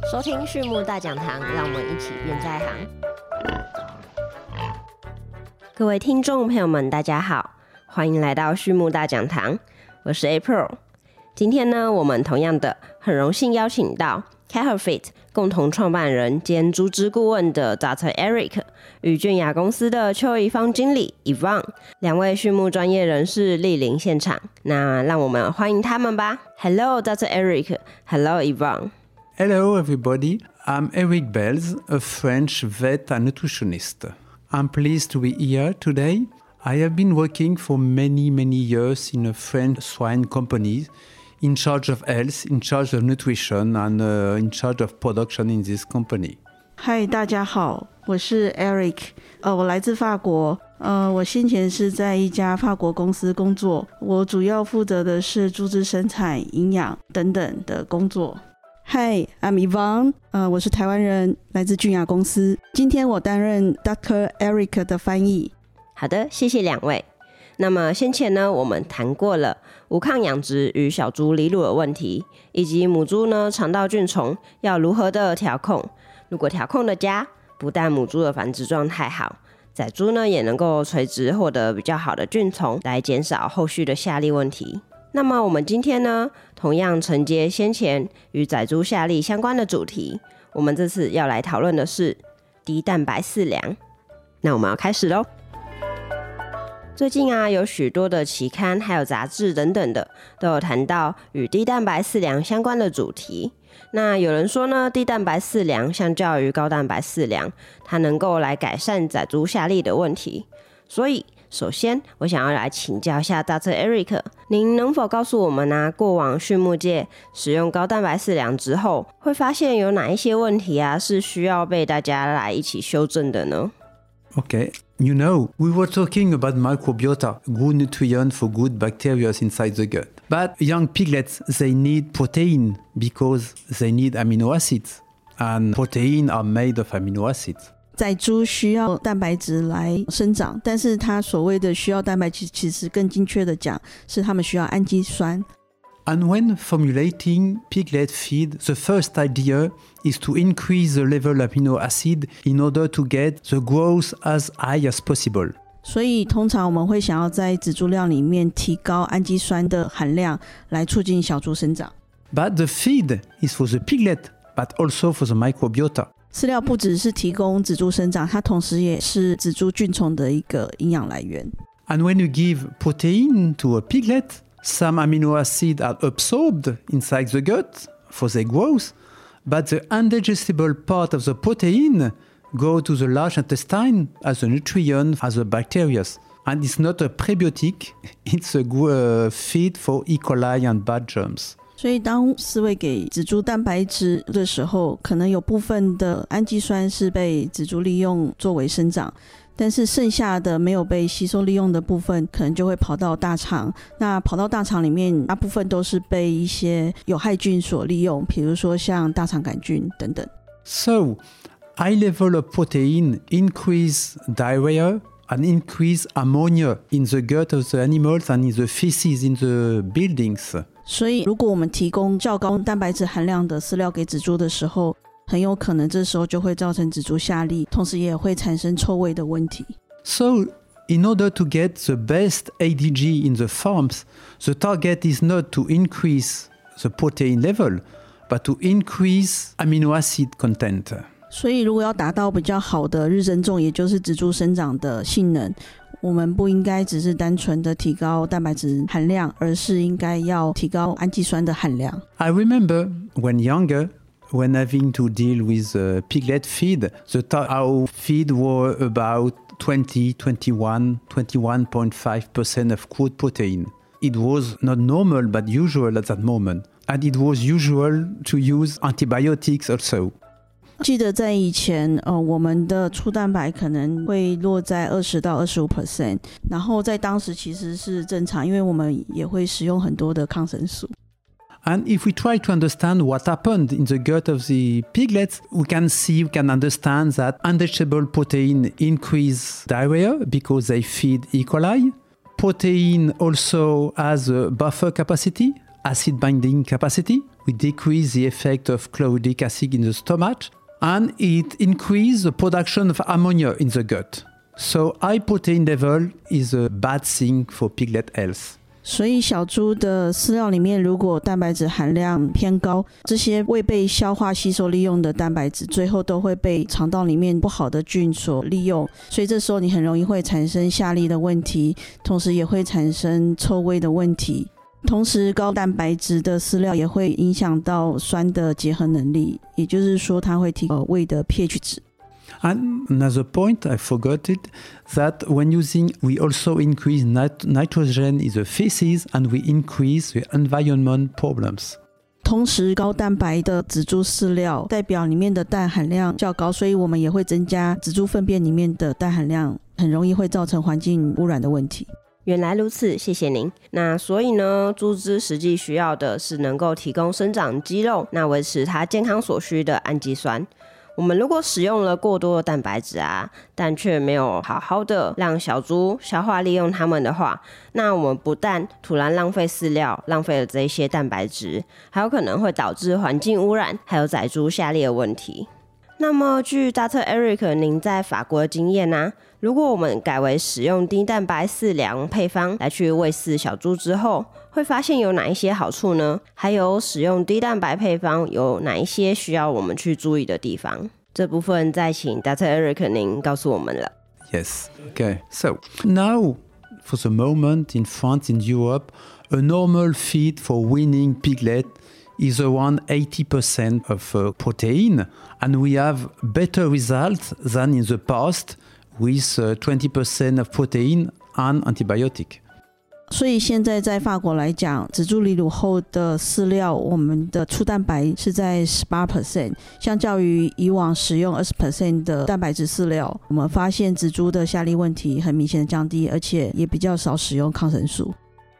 收听畜牧大讲堂，让我们一起变在行。各位听众朋友们，大家好，欢迎来到畜牧大讲堂，我是 April。今天呢，我们同样的很荣幸邀请到 Catherfit 共同创办人兼猪只顾问的 Dr. Eric 与俊雅公司的邱怡芳经理 Yvonne 两位畜牧专业人士莅临现场，那让我们欢迎他们吧。Hello Dr. Eric, Hello Yvonne. Hello everybody, I'm Eric Belz, a French vet and nutritionist. I'm pleased to be here today. I have been working for many years in a French swine company in charge of health, in charge of nutrition and in charge of production in this company. 嗨，大家好，我是 Eric， 我来自法国，我先前是在一家法国公司工作，我主要负责的是猪只生产、营养等等的工作。Hi, I'm Yvonne， 我是台湾人，来自俊雅公司，今天我担任 Dr. Eric 的翻译。 好的，谢谢两位。那么先前呢，我们谈过了无抗养殖与小猪离乳的问题，以及母猪呢肠道菌虫要如何的调控。如果调控的佳，不但母猪的繁殖状态好，仔猪呢也能够垂直获得比较好的菌丛，来减少后续的下痢问题。那么我们今天呢，同样承接先前与仔猪下痢相关的主题，我们这次要来讨论的是低蛋白饲粮。那我们要开始咯。最近啊，有许多的期刊还有杂志等等的都有谈到与低蛋白饲粮相关的主题。那有人说呢，低蛋白饲粮相较于高蛋白饲粮，它能够来改善仔猪下痢的问题。所以首先我想要来请教一下 Dr. Eric， 您能否告诉我们啊，过往畜牧界使用高蛋白饲粮之后，会发现有哪一些问题啊是需要被大家来一起修正的呢？ Okay, you know, we were talking about microbiota, good nutrients for good bacteria inside the gut. But young piglets, they need protein because they need amino acids. And protein are made of amino acids. 仔猪需要蛋白质来生长，但是它所谓的需要蛋白质，其实更精确的讲，是它们需要氨基酸。 And when formulating piglet feed, the first idea is to increase the level of amino acid in order to get the growth as high as possible. 所以通常我们会想要在仔猪料里面提高氨基酸的含量，来促进小猪生长。 But the feed is for the piglet, but also for the microbiota. 饲料不只是提供仔猪生长，它同时也是仔猪菌丛的一个营养来源。 And when you give protein to a piglet, some amino acids are absorbed inside the gut for their growth, but the undigestible part of the protein go to the large intestine as a nutrient as the bacteria. And it's not a prebiotic, it's a feed for E. coli and bad germs. 所以当饲喂给仔猪蛋白质的时候，可能有部分的氨基酸是被仔猪利用作为生长，但是剩下的没有被吸收利用的部分可能就会跑到大肠，那跑到大肠里面大部分都是被一些有害菌所利用，比如说像大肠杆菌等等。 So, high level of protein increase diarrhea and increase ammonia in the gut of the animals and in the feces in the buildings. 所以如果我们提供较高蛋白质含量的饲料给仔猪的时候，很有可能这时候就会造成仔猪下痢，同时也会产生臭味的问题。 So, in order to get the best ADG in the farms, the target is not to increase the protein level, but to increase amino acid content. 所以如果要达到比较好的日增重，也就是仔猪生长的性能，我们不应该只是单纯的提高蛋白质含量，而是应该要提高氨基酸的含量。 I remember when younger, when having to deal with piglet feed, our feed were about 21% of crude protein. It was not normal but usual at that moment. And it was usual to use antibiotics also. 记得在以前我们的粗蛋白可能会落在20到25%，然后在当时其实是正常，因为我们也会使用很多的抗生素。 And if we try to understand what happened in the gut of the piglets, we can understand that undigestible protein increase diarrhea because they feed E. coli. Protein also has a buffer capacity acid binding capacity, we decrease the effect of chlorhydric acid in the stomach, and it increases the production of ammonia in the gut. So high protein level is a bad thing for piglet health. 所以小猪的饲料里面如果蛋白质含量偏高，这些未被消化吸收利用的蛋白质最后都会被肠道里面不好的菌所利用，所以这时候你很容易会产生下痢的问题，同时也会产生臭味的问题。同时高蛋白质的饲料也会影响到酸的结合能力，也就是说它会提高胃的 pH 值。 And another point I forgot it, that when using, we also increase nitrogen in the feces and we increase the environment problems. 同时高蛋白的仔猪饲料代表里面的氮含量较高，所以我们也会增加仔猪粪便里面的氮含量，很容易会造成环境污染的问题。 原来如此，谢谢您。那所以呢，猪只实际需要的是能够提供生长肌肉，那维持它健康所需的氨基酸。我们如果使用了过多的蛋白质但却没有好好的让小猪消化利用它们的话，那我们不但突然浪费饲料，浪费了这些蛋白质，还有可能会导致环境污染，还有宰猪下痢的问题。那么据 Dr. Eric 您在法国的经验如果我们改为使用低蛋白饲粮配方来去喂饲小猪之后，会发现有哪一些好处呢？还有使用低蛋白配方有哪一些需要我们去注意的地方？这部分再请 Dr. Eric 您告诉我们了。 Yes, okay. So now, for the moment in France, in Europe, a normal feed for weaning piglet is around 80% of protein, and we have better results than in the past with 20% of protein and antibiotic. 所以现在在法国来讲，仔猪离乳后的饲料，我们的粗蛋白是在 18%， 相较于以往使用 20% 的蛋白质饲料，我们发现仔猪的下痢问题很明显的降低，而且也比较少使用抗生素。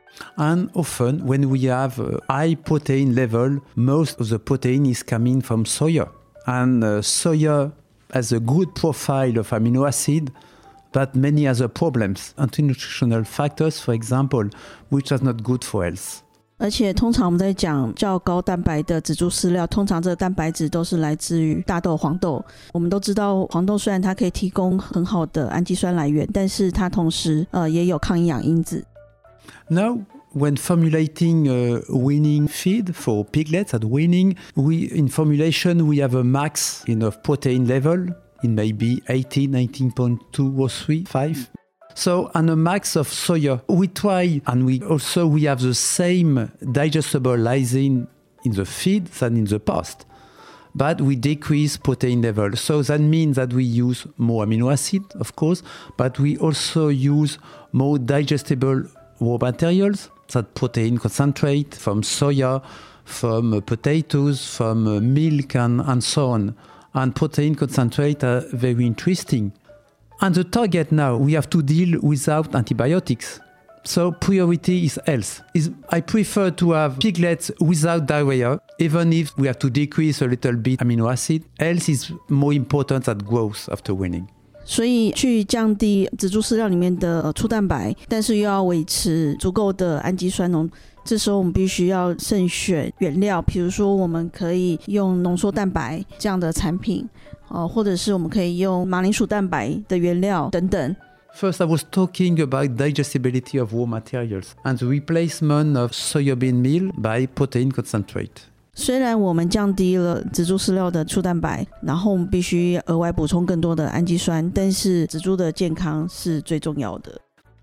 And often when we have a high protein level, most of the protein is coming from soya. And soya has a good profile of amino acid, but many other problems, anti-nutritional factors, for example, which are not good for health. 而且通常我们在讲较高蛋白的仔猪饲料，通常这个蛋白质都是来自于大豆、黄豆。我们都知道黄豆虽然它可以提供很好的氨基酸来源，但是它同时也有抗营养因子。 Now, when formulating a weaning feed for piglets at weaning, in formulation we have a max of protein level in maybe 18, 19.2 or 3, 5. So, and a max of soya. We try, and we have the same digestible lysine in the feed than in the past. But we decrease protein level. So that means that we use more amino acid, of course, but we also use more digestible raw materials, that protein concentrate from soya, from potatoes, from milk, and so on. And protein concentrate are very interesting. And the target now, we have to deal without antibiotics. So priority is health. I prefer to have piglets without diarrhea, even if we have to decrease a little bit amino acid. Health is more important than growth after weaning. 所以去降低仔猪饲料里面的粗蛋白，但是又要维持足够的氨基酸浓，这时候我们必须要慎选原料，比如说我们可以用浓缩蛋白这样的产品，或者是我们可以用马铃薯蛋白的原料等等。 First, I was talking about digestibility of raw materials and the replacement of soybean meal by protein concentrate. 虽然我们降低了仔猪饲料的粗蛋白，然后我们必须额外补充更多的氨基酸，但是仔猪的健康是最重要的。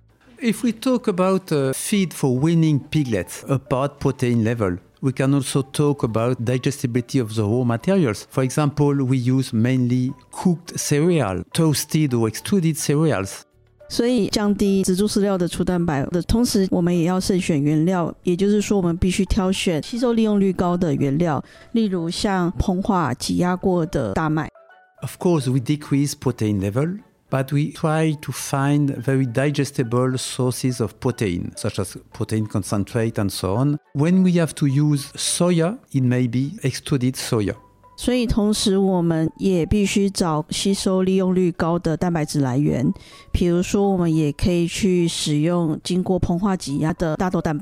If we talk about feed for weaning piglets, apart protein level, we can also talk about digestibility of the raw materials. For example, we use mainly cooked cereal, toasted or extruded cereals. 所以降低仔猪饲料的粗蛋白的同时，我们也要慎选原料，也就是说我们必须挑选吸收利用率高的原料，例如像膨化挤压过的大麦。 Of course, we decrease protein level, but we try to find very digestible sources of protein, such as protein concentrate and so on. When we have to use soya, it may be extruded soya. 所以同时我们也必须找吸收利用率高的蛋白质来源，比如说我们也可以去使用经过膨化挤压的大豆蛋白。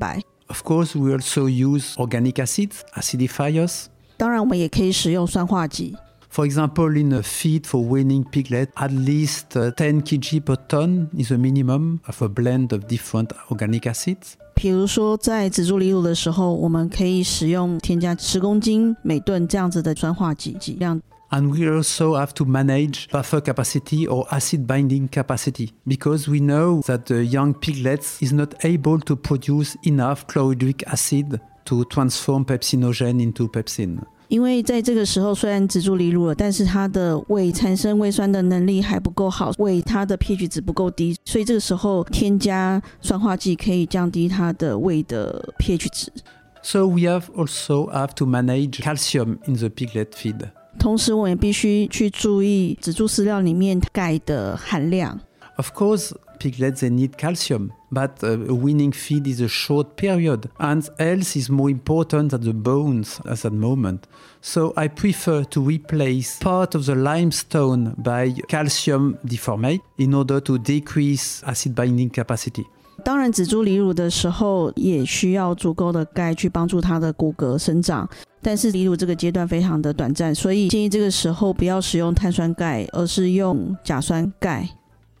Of course, we also use organic acids, acidifiers. 当然，我们也可以使用酸化剂。 For example, in a feed for weaning piglet, at least 10 kg per ton is a minimum of a blend of different organic acids. 比如说，在仔猪离乳的时候，我们可以使用添加10公斤每吨这样子的酸化剂剂量。 And we also have to manage buffer capacity or acid binding capacity because we know that the young piglets is not able to produce enough chlorhydric acid to transform pepsinogen into pepsin. 因为在这个时候，虽然仔猪离乳了，但是它的胃产生胃酸的能力还不够好，胃它的 pH 值不够低，所以这个时候添加酸化剂可以降低它的胃的 pH 值。 So we also have to manage calcium in the piglet feed. 同时，我们也必须去注意仔猪饲料里面钙的含量。 Of course, piglets they need calcium, but a weaning feed is a short period, and health is more important than the bones at that moment. So I prefer to replace part of the limestone by calcium deformate in order to decrease acid binding capacity. 当然，仔猪离乳的时候也需要足够的钙去帮助它的骨骼生长，但是离乳这个阶段非常的短暂，所以建议这个时候不要使用碳酸钙，而是用甲酸钙。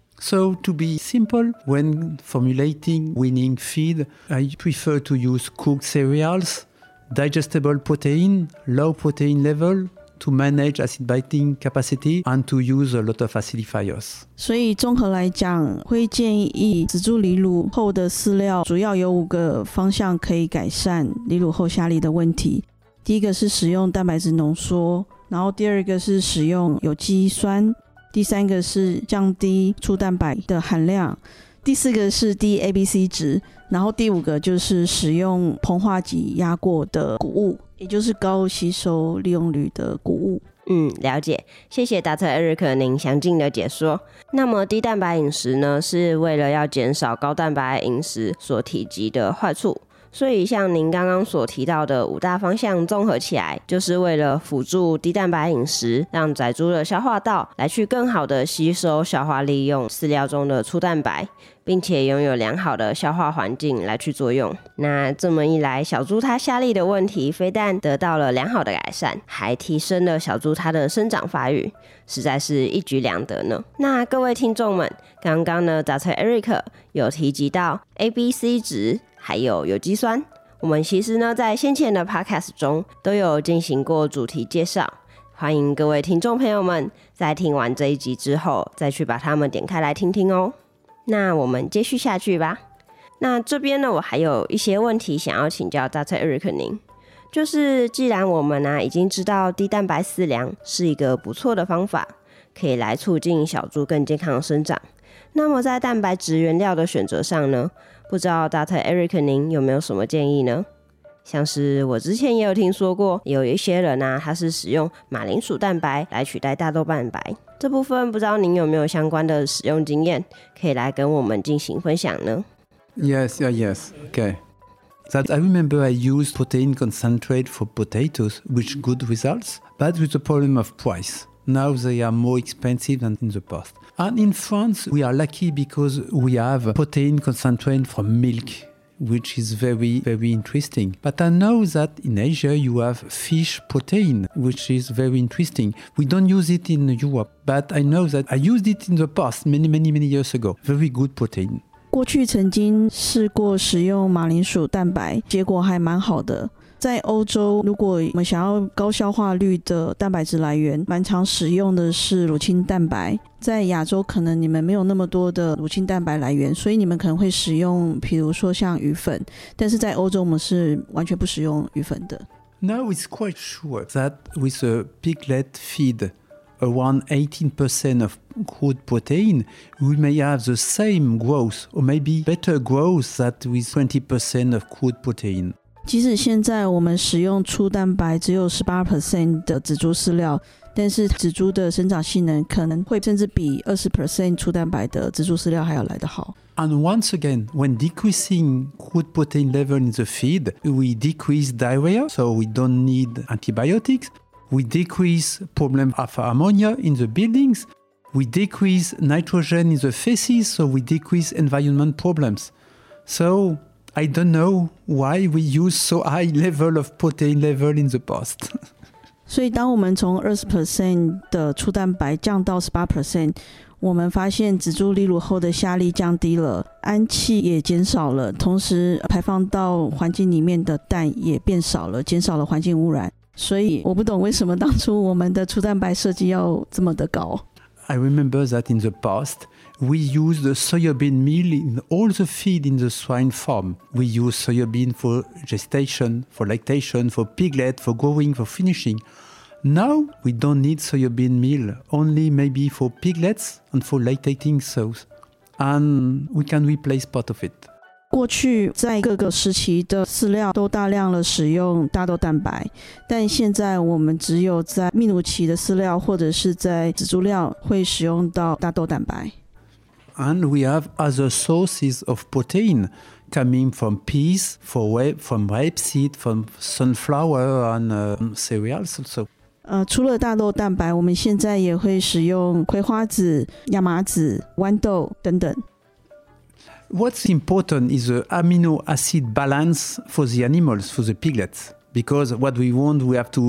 So to be simple, when formulating weaning feed, I prefer to use cooked cereals, digestible protein, low protein level, to manage acid binding capacity and to use a lot of acidifiers. 所以综合来讲，会建议仔猪离乳后的饲料主要有5个方向可以改善离乳后下痢的问题。第一个是使用蛋白质浓缩，然后第二个是使用有机酸，第三个是降低粗蛋白的含量，第四个是低 ABC 值，然后第5个就是使用膨化剂压过的谷物，也就是高吸收利用率的谷物。 了解，谢谢 Dr. Eric 您详尽的解说。那么低蛋白饮食呢，是为了要减少高蛋白饮食所体积的坏处。所以像您刚刚所提到的5大方向综合起来，就是为了辅助低蛋白饮食，让仔猪的消化道来去更好的吸收消化利用饲料中的粗蛋白，并且拥有良好的消化环境来去作用。那这么一来，小猪它下痢的问题非但得到了良好的改善，还提升了小猪它的生长发育，实在是一举两得呢。那各位听众们，刚刚呢 Dr. Eric 有提及到 ABC 值还有有机酸，我们其实呢在先前的 podcast 中都有进行过主题介绍，欢迎各位听众朋友们在听完这一集之后再去把它们点开来听听哦。那我们接续下去吧。那这边呢，我还有一些问题想要请教 Dr. Eric 您，就是既然我们已经知道低蛋白饲粮是一个不错的方法，可以来促进小猪更健康的生长，那么在蛋白质原料的选择上呢，不知道 Dr. Eric 您有没有什么建议呢？像是我之前也有听说过，有一些人他是使用马铃薯蛋白来取代大豆蛋白，这部分不知道您有没有相关的使用经验，可以来跟我们进行分享呢？ Yes. Okay. That I remember I used protein concentrate for potatoes, with good results, but with the problem of price. Now they are more expensive than in the past. And in France, we are lucky because we have protein concentrate from milk, which is very, very interesting. But I know that in Asia you have fish protein, which is very interesting. We don't use it in Europe, but I know that I used it in the past, many years ago. Very good protein. 过去曾经试过使用马铃薯蛋白，结果还蛮好的。在欧洲，如果我们想要高消化率的蛋白质来源，蛮常使用的是乳清蛋白。在亚洲，可能你们没有那么多的乳清蛋白来源，所以你们可能会使用，比如说像鱼粉。但是在欧洲，我们是完全不使用鱼粉的。 Now it's quite sure that with a piglet feed, around 18% of crude protein, we may have the same growth or maybe better growth than with 20% of crude protein. 即使现在我们使用粗蛋白只有 18% 的仔猪饲料，但是仔猪的生长性能可能会甚至比 20% 粗蛋白的仔猪饲料还要来得好。 And once again, when decreasing crude protein level in the feed, we decrease diarrhea, so we don't need antibiotics. We decrease problem of ammonia in the buildings. We decrease nitrogen in the feces, so we decrease environment problems. So I don't know why we use so high level of protein level in the past. 所以当我们从 20% 的粗蛋白降到 18%， 我们发现紫珠离乳后的下痢降低了，氨气也减少了，同时排放到环境里面的氮也变少了，减少了环境污染。所以我不懂为什么当初我们的粗蛋白设计要这么的高。 I remember that in the past, we used the soybean meal in all the feed in the swine farm. We use soybean for gestation, for lactation, for piglet, for growing, for finishing. Now, we don't need soybean meal, only maybe for piglets and for lactating sows. And we can replace part of it. 过去在各个时期的饲料都大量的使用大豆蛋白，但现在我们只有在泌乳期的饲料或者是在紫珠料会使用到大豆蛋白。 And we have other sources of protein coming from peas, from rapeseed, from sunflower and cereals also. 除了大豆蛋白，我们现在也会使用葵花籽、亚麻籽、豌豆等等。 What's important is the amino acid balance for the animals, for the piglets. Because what we want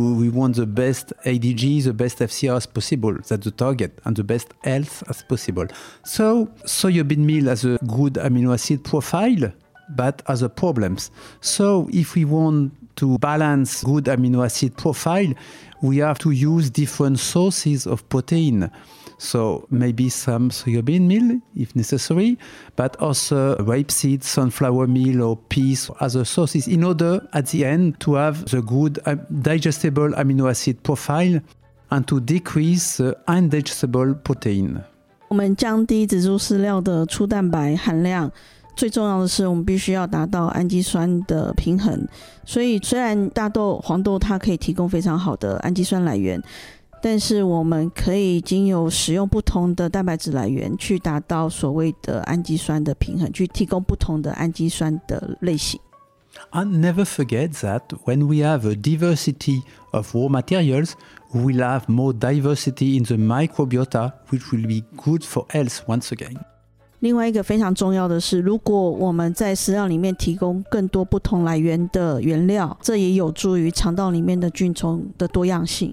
the best ADG, the best FCR as possible. That's the target, and the best health as possible. So soybean meal has a good amino acid profile, but has a problems. So if we want to balance good amino acid profile, we have to use different sources of protein. So maybe some soybean meal if necessary, but also rapeseed, sunflower meal or peas or other sources in order at the end to have the good digestible amino acid profile and to decrease the undigestible protein. 我们降低紫珠饲料的粗蛋白含量，最重要的是我们必须要达到氨基酸的平衡。所以虽然大豆、黄豆它可以提供非常好的氨基酸来源，但是我们可以经由使用不同的蛋白质来源去达到所谓的氨基酸的平衡，去提供不同的氨基酸的类型。 And never forget that when we have a diversity of raw materials, we will have more diversity in the microbiota, which will be good for health once again. 另外一个非常重要的是，如果我们在饲料里面提供更多不同来源的原料，这也有助于肠道里面的菌虫的多样性。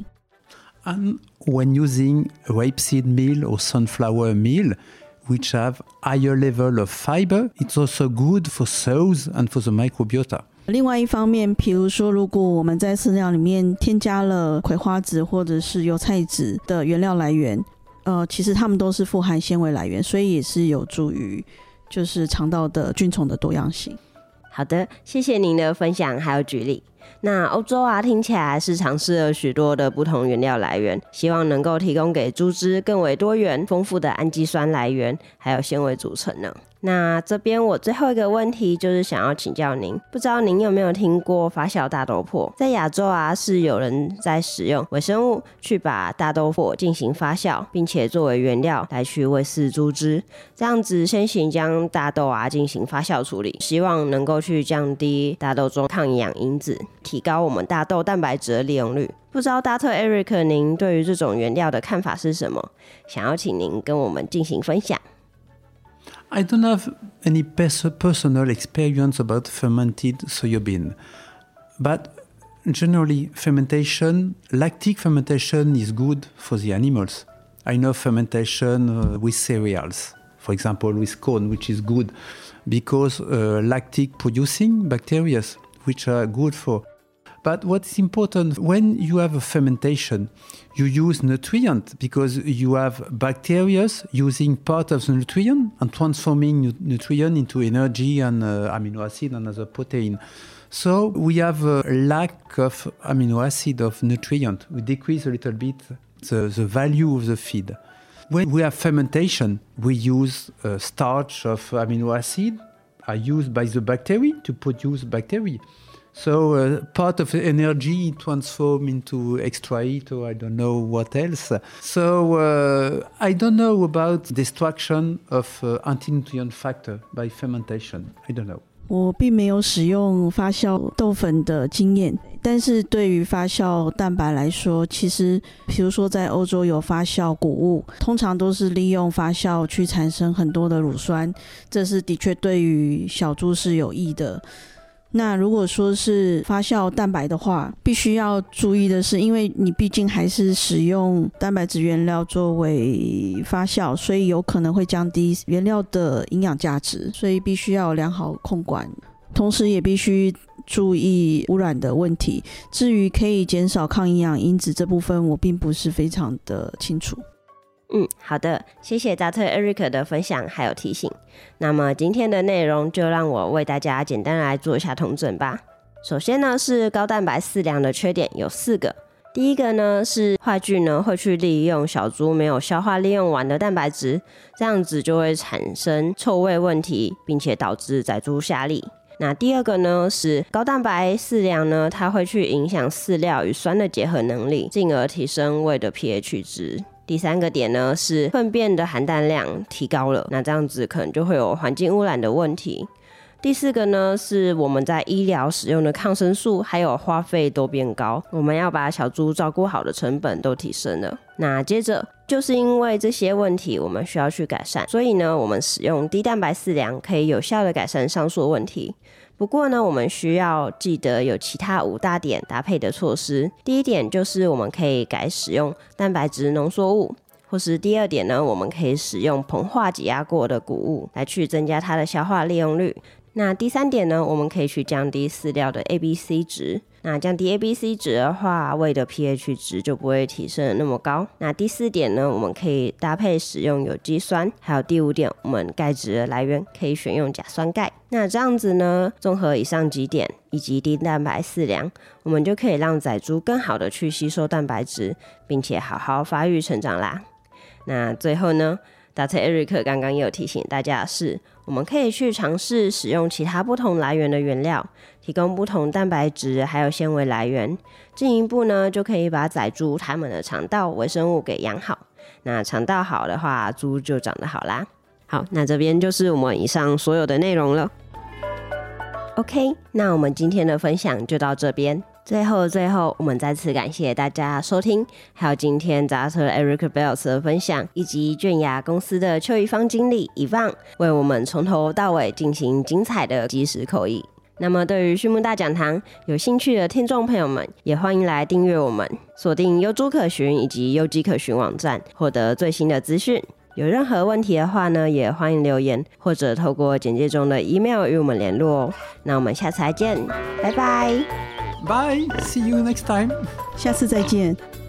And when using rapeseed meal or sunflower meal, which have higher level of fiber, it's also good for sows and for the microbiota. 另外一方面，比如说如果我们在饲料里面添加了葵花籽或者是油菜籽的原料来源，其实它们都是富含纤维来源，所以也是有助于就是肠道的菌虫的多样性。 好的，谢谢您的分享还有举例。那欧洲听起来是尝试了许多的不同原料来源，希望能够提供给猪只更为多元丰富的氨基酸来源还有纤维组成呢。那这边我最后一个问题就是想要请教您，不知道您有没有听过发酵大豆粕？在亚洲是有人在使用微生物去把大豆粕进行发酵，并且作为原料来去喂饲猪只，这样子先行将大豆进行发酵处理，希望能够去降低大豆中抗营养因子，提高我们大豆蛋白质的利用率。不知道大特 Eric 您对于这种原料的看法是什么？想要请您跟我们进行分享。 I don't have any personal experience about fermented soybean, but generally lactic fermentation is good for the animals. I know fermentation with cereals, for example with corn, which is good because lactic producing bacteria, which are good for. But what's important, when you have a fermentation, you use nutrient because you have bacteria using part of the nutrient and transforming nutrient into energy and amino acid and other protein. So we have a lack of amino acid of nutrient. We decrease a little bit the value of the feed. When we have fermentation, we use starch of amino acid are used by the bacteria to produce bacteria. So part of the energy transform into extra heat or I don't know what else. So I don't know about destruction of anti-nutrient factor by fermentation. I don't know. 我并没有使用发酵豆粉的经验，但是对于发酵蛋白来说，其实比如说在欧洲有发酵谷物，通常都是利用发酵去产生很多的乳酸，这是的确对于小猪是有益的。那如果说是发酵蛋白的话，必须要注意的是，因为你毕竟还是使用蛋白质原料作为发酵，所以有可能会降低原料的营养价值，所以必须要有良好控管，同时也必须注意污染的问题。至于可以减少抗营养因子这部分，我并不是非常的清楚。 好的，谢谢 Dr. Eric 的分享还有提醒。那么今天的内容就让我为大家简单来做一下统整吧。首先呢，是高蛋白饲粮的缺点有4个。第一个呢，是坏菌呢会去利用小猪没有消化利用完的蛋白质，这样子就会产生臭味问题，并且导致宰猪下痢。那第二个呢，是高蛋白饲粮呢，它会去影响饲料与酸的结合能力，进而提升胃的 pH 值。第3个点呢，是粪便的含氮量提高了，那这样子可能就会有环境污染的问题。第4个呢，是我们在医疗使用的抗生素还有花费都变高，我们要把小猪照顾好的成本都提升了。那接着就是因为这些问题我们需要去改善，所以呢，我们使用低蛋白饲粮可以有效的改善上述的问题。不过呢，我们需要记得有其他5大点搭配的措施。第一点就是我们可以改使用蛋白质浓缩物，或是第2点呢，我们可以使用膨化挤压过的谷物来去增加它的消化利用率。那第3点呢，我们可以去降低饲料的 ABC 值。那降低 ABC 值的话，胃的 pH 值就不会提升得那么高。那第4点呢，我们可以搭配使用有机酸。还有第5点，我们钙质的来源可以选用甲酸钙。那这样子呢，综合以上几点以及低蛋白饲粮，我们就可以让宰猪更好的去吸收蛋白质，并且好好发育成长啦。那最后呢，Dr. Eric 刚刚也有提醒大家的是，我们可以去尝试使用其他不同来源的原料，提供不同蛋白质还有纤维来源，进一步呢就可以把宰猪它们的肠道微生物给养好。那肠道好的话，猪就长得好啦。好，那这边就是我们以上所有的内容了。OK， 那我们今天的分享就到这边。最后，我们再次感谢大家收听，还有今天 Dr. Eric Bells 的分享，以及卷牙公司的邱一芳经理Yvonne为我们从头到尾进行精彩的即时口译。那么对于畜牧大讲堂有兴趣的听众朋友们，也欢迎来订阅我们，锁定优猪可循以及优鸡可循网站，获得最新的资讯。有任何问题的话呢，也欢迎留言或者透过简介中的 email 与我们联络哦。那我们下次再见，拜拜。 Bye, see you next time. 下次再见。